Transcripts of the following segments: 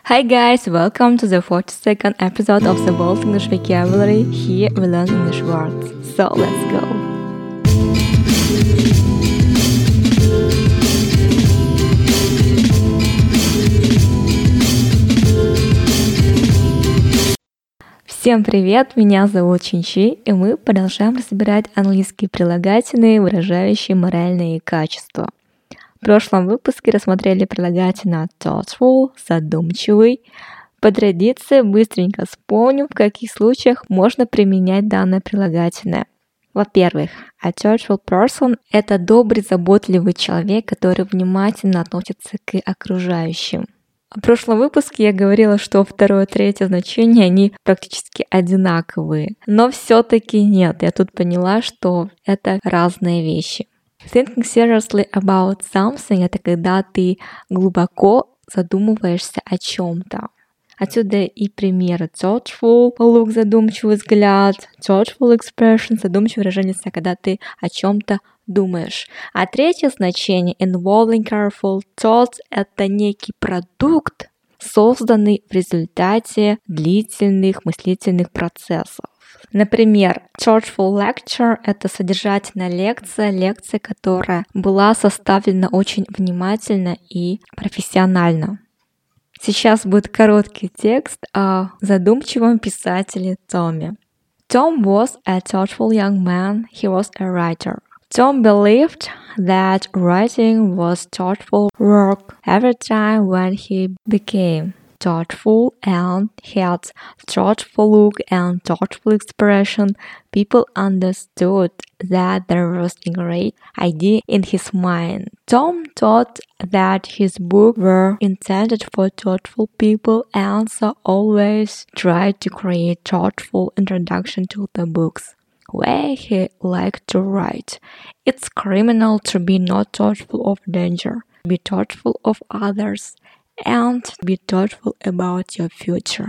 Hi guys, welcome to the 42nd episode of the Bold English Vocabulary. Here we learn English words. So let's go. Всем привет, меня зовут Чинчи, и мы продолжаем разбирать английские прилагательные, выражающие моральные качества. В прошлом выпуске рассмотрели прилагательное thoughtful, задумчивый. По традиции быстренько вспомним, в каких случаях можно применять данное прилагательное. Во-первых, a thoughtful person – это добрый, заботливый человек, который внимательно относится к окружающим. В прошлом выпуске я говорила, что второе и третье значение, они практически одинаковые. Но все-таки нет, я тут поняла, что это разные вещи. Thinking seriously about something – это когда ты глубоко задумываешься о чем-то. Отсюда и примеры thoughtful look, задумчивый взгляд, thoughtful expression, задумчивое выражение, когда ты о чем-то думаешь. А третье значение involving careful thoughts – это некий продукт, созданный в результате длительных мыслительных процессов. Например, thoughtful lecture – это содержательная лекция, которая была составлена очень внимательно и профессионально. Сейчас будет короткий текст о задумчивом писателе Томе. Tom was a thoughtful young man. He was a writer. Tom believed that writing was thoughtful work. Every time when he became thoughtful and had thoughtful look and thoughtful expression, people understood that there was a great idea in his mind. Tom thought that his books were intended for thoughtful people and so always tried to create thoughtful introduction to the books where he liked to write. It's criminal to be not thoughtful of danger, be thoughtful of others, and be thoughtful about your future.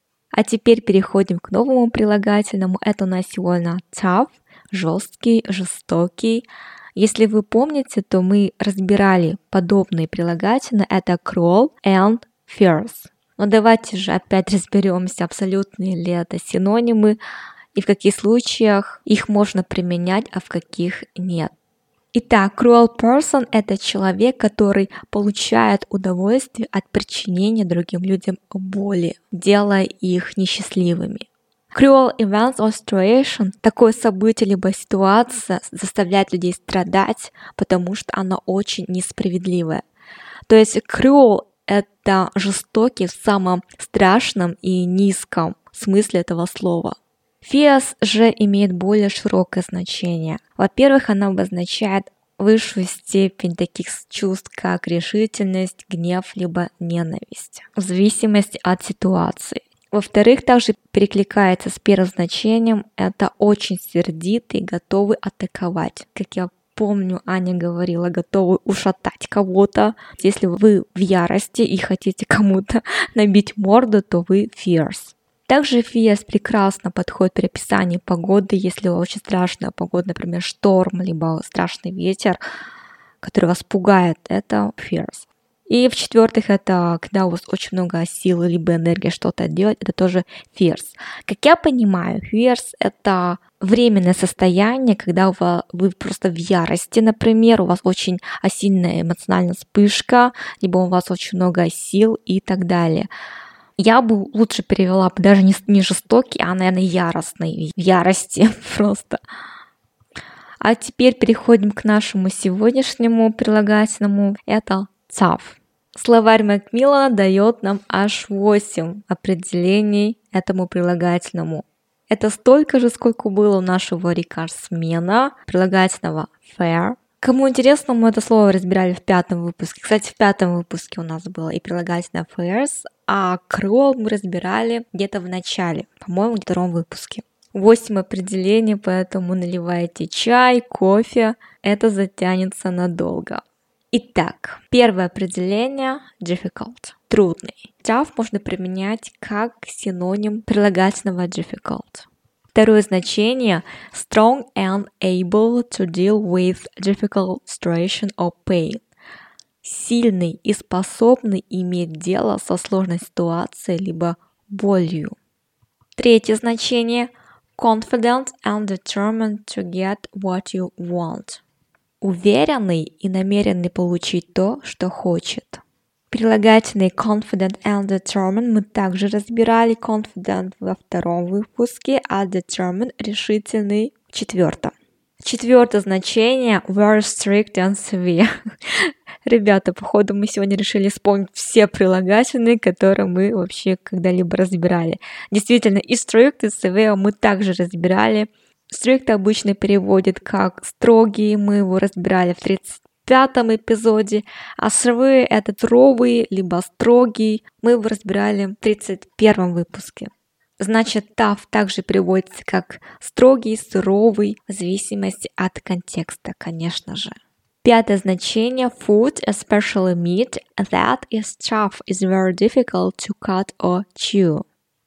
А теперь переходим к новому прилагательному. Это у нас сегодня tough, жесткий, жестокий. Если вы помните, то мы разбирали подобные прилагательные. Это cruel and fierce. Но давайте же опять разберемся, абсолютные ли это синонимы, и в каких случаях их можно применять, а в каких нет. Итак, cruel person – это человек, который получает удовольствие от причинения другим людям боли, делая их несчастливыми. Cruel events or situation – такое событие либо ситуация заставляет людей страдать, потому что оно очень несправедливое. То есть cruel – это жестокий в самом страшном и низком смысле этого слова. Fierce же имеет более широкое значение. Во-первых, она обозначает высшую степень таких чувств, как решительность, гнев, либо ненависть, в зависимости от ситуации. Во-вторых, также перекликается с первым значением, это очень сердитый, готовый атаковать. Как я помню, Аня говорила, готовый ушатать кого-то. Если вы в ярости и хотите кому-то набить морду, то вы fierce. Также fierce прекрасно подходит при описании погоды, если очень страшная погода, например, шторм, либо страшный ветер, который вас пугает, это fierce. И в-четвертых, это когда у вас очень много сил, либо энергии что-то делать, это тоже fierce. Как я понимаю, fierce – это временное состояние, когда вы просто в ярости, например, у вас очень сильная эмоциональная вспышка, либо у вас очень много сил и так далее. Я бы лучше перевела даже не жестокий, а, наверное, яростный. В ярости просто. А теперь переходим к нашему сегодняшнему прилагательному. Это tough. Словарь Макмиллана дает нам аж 8 определений этому прилагательному. Это столько же, сколько было у нашего рекордсмена, прилагательного fair. Кому интересно, мы это слово разбирали в 5-м выпуске. Кстати, в 5-м выпуске у нас было и прилагательное fierce, а cruel мы разбирали где-то в начале, по-моему, в 2-м выпуске. 8 определений, поэтому наливайте чай, кофе, это затянется надолго. Итак, первое определение – difficult, трудный. Tough можно применять как синоним прилагательного difficult. Второе значение – strong and able to deal with difficult situation or pain. сильный и способный иметь дело со сложной ситуацией либо болью. Третье значение – confident and determined to get what you want. Уверенный и намеренный получить то, что хочет. Прилагательные confident and determined мы также разбирали. Confident во втором выпуске, а determined – решительный в четвертом. Четвертое значение – very strict and severe. Ребята, походу мы сегодня решили вспомнить все прилагательные, которые мы вообще когда-либо разбирали. Действительно, и strict, и severe мы также разбирали. Strict обычно переводит как строгий, мы его разбирали в 35-м эпизоде, а severe — это суровый, либо строгий, мы его разбирали в 31-м выпуске. Значит, tough также переводится как строгий, суровый, в зависимости от контекста, конечно же. Пятое значение – food, especially meat, that is tough, is very difficult to cut or chew.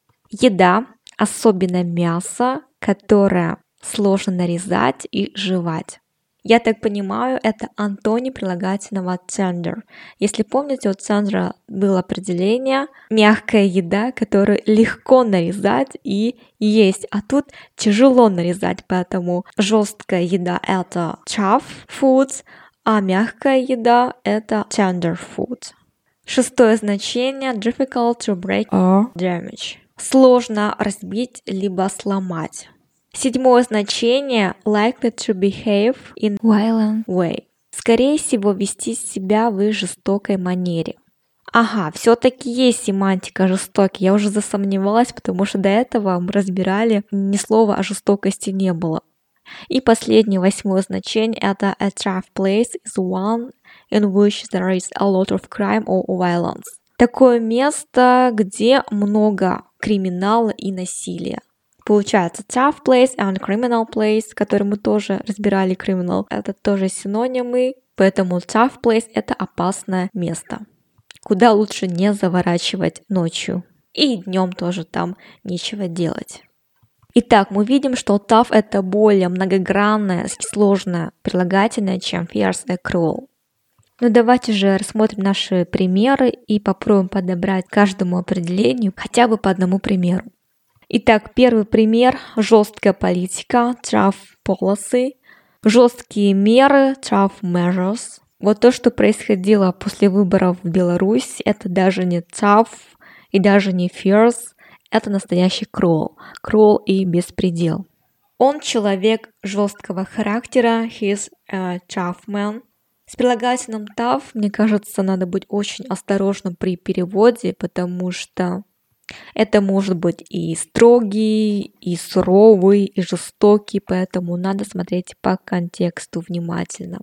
Еда, особенно мясо, которое сложно нарезать и жевать. Я так понимаю, это антоним прилагательного tender. Если помните, у tender было определение мягкая еда, которую легко нарезать и есть, а тут тяжело нарезать, поэтому жесткая еда – это tough foods, а мягкая еда – это tender food. Шестое значение – difficult to break or damage. Сложно разбить либо сломать. Седьмое значение – likely to behave in violent way. Скорее всего, вести себя в жестокой манере. Ага, все-таки есть семантика жестокий. Я уже засомневалась, потому что до этого мы разбирали, ни слова о жестокости не было. И последнее, восьмое значение – это a tough place is one in which there is a lot of crime or violence. Такое место, где много криминала и насилия. Получается tough place and criminal place, который мы тоже разбирали, criminal, это тоже синонимы, поэтому tough place – это опасное место, куда лучше не заворачивать ночью. И днем тоже там нечего делать. Итак, мы видим, что tough – это более многогранное, сложное прилагательное, чем fierce и cruel. Ну давайте же рассмотрим наши примеры и попробуем подобрать каждому определению хотя бы по одному примеру. Итак, первый пример – жесткая политика, tough policy, жесткие меры, tough measures. Вот то, что происходило после выборов в Беларуси, это даже не tough и даже не fierce, это настоящий cruel и беспредел. Он человек жесткого характера, he's a tough man. С прилагательным tough, мне кажется, надо быть очень осторожным при переводе, потому что это может быть и строгий, и суровый, и жестокий, поэтому надо смотреть по контексту внимательно.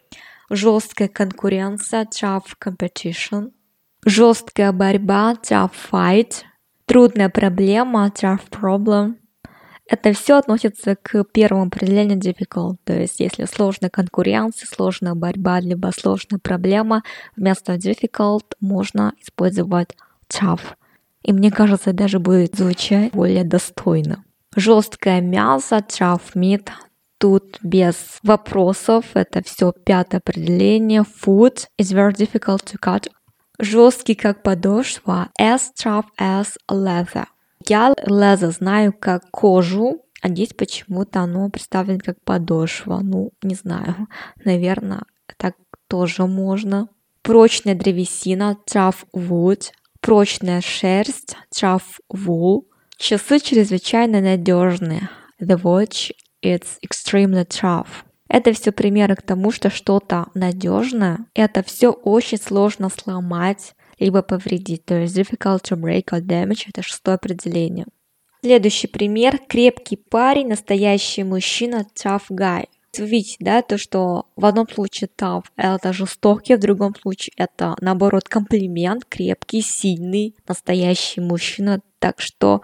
Жесткая конкуренция, tough competition. Жесткая борьба, tough fight. Трудная проблема, tough problem. Это все относится к первому определению difficult, то есть если сложная конкуренция, сложная борьба, либо сложная проблема, вместо difficult можно использовать tough. И мне кажется, даже будет звучать более достойно. Жесткое мясо, tough meat. Тут без вопросов, это все пятое определение. Food is very difficult to cut. Жесткий как подошва, as tough as leather. Я leather знаю как кожу, а здесь почему-то оно представлено как подошва. Ну, не знаю, наверное, так тоже можно. Прочная древесина, tough wood. Прочная шерсть, tough wool. Часы чрезвычайно надежные. The watch is extremely tough. Это все примеры к тому, что что-то надежное, это все очень сложно сломать, либо повредить. То есть difficult to break or damage – это шестое определение. Следующий пример. Крепкий парень, настоящий мужчина, tough guy. Вы видите, да, то, что в одном случае tough – это жестокий, в другом случае это, наоборот, комплимент, крепкий, сильный, настоящий мужчина. Так что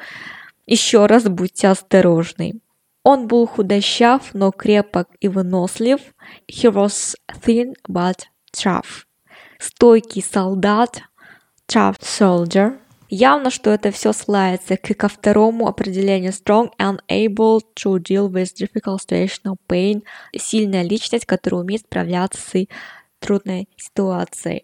еще раз будьте осторожны. Он был худощав, но крепок и вынослив. He was thin, but tough. Стойкий солдат, tough soldier. Явно, что это все ссылается ко второму определению strong and able to deal with difficult situational pain. Сильная личность, которая умеет справляться с трудной ситуации.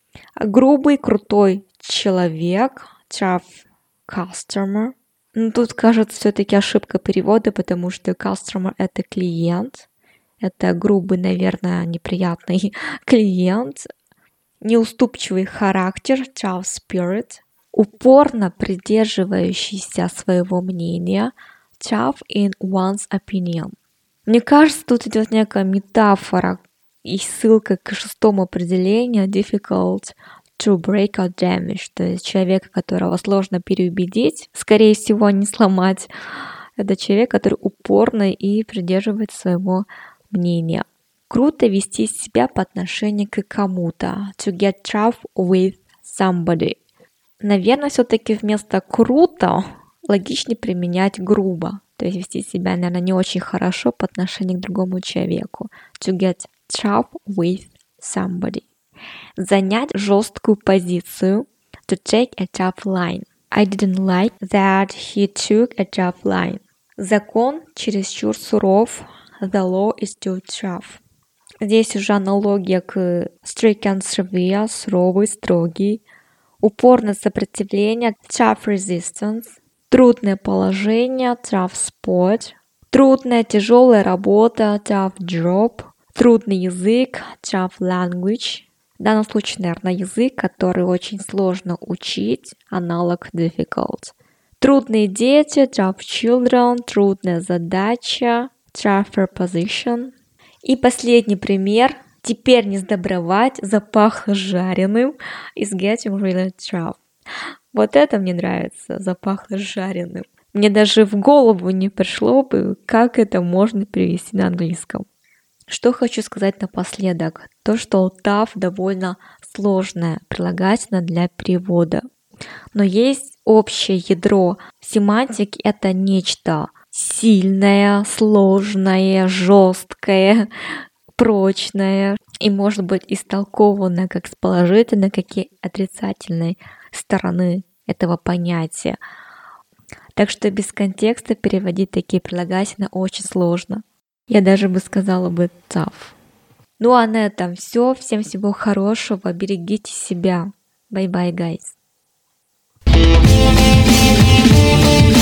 Грубый, крутой человек, tough customer. Но тут, кажется, все-таки ошибка перевода, потому что customer — это клиент. Это грубый, наверное, неприятный клиент. Неуступчивый характер, tough spirit. Упорно придерживающийся своего мнения, tough in one's opinion. Мне кажется, тут идет некая метафора и ссылка к шестому определению difficult to break or damage, то есть человека, которого сложно переубедить, скорее всего, не сломать. Это человек, который упорно и придерживается своего мнения. Круто вести себя по отношению к кому-то. To get tough with somebody. Наверное, все-таки вместо круто логичнее применять грубо. То есть вести себя, наверное, не очень хорошо по отношению к другому человеку. To get tough with somebody. Занять жесткую позицию. To take a tough line. I didn't like that he took a tough line. Закон чересчур суров. The law is too tough. Здесь уже аналогия к strict and severe, суровый, строгий. Упорное сопротивление, tough resistance. Трудное положение, tough spot. Трудная, тяжелая работа, tough job. Трудный язык, tough language. В данном случае, наверное, язык, который очень сложно учить, аналог difficult. Трудные дети, tough children. Трудная задача, tougher position. И последний пример. Теперь не сдобровать, запахло жареным. Is getting really tough. Вот это мне нравится, запахло жареным. Мне даже в голову не пришло бы, как это можно перевести на английском. Что хочу сказать напоследок. То, что tough довольно сложное прилагательное для перевода. Но есть общее ядро семантики. Это нечто сильное, сложное, жесткое, прочное и может быть истолковано как с положительной, как и отрицательной стороны этого понятия. Так что без контекста переводить такие прилагательные очень сложно. Я даже бы сказала бы tough. Ну а на этом все. Всем всего хорошего. Берегите себя. Bye-bye, guys.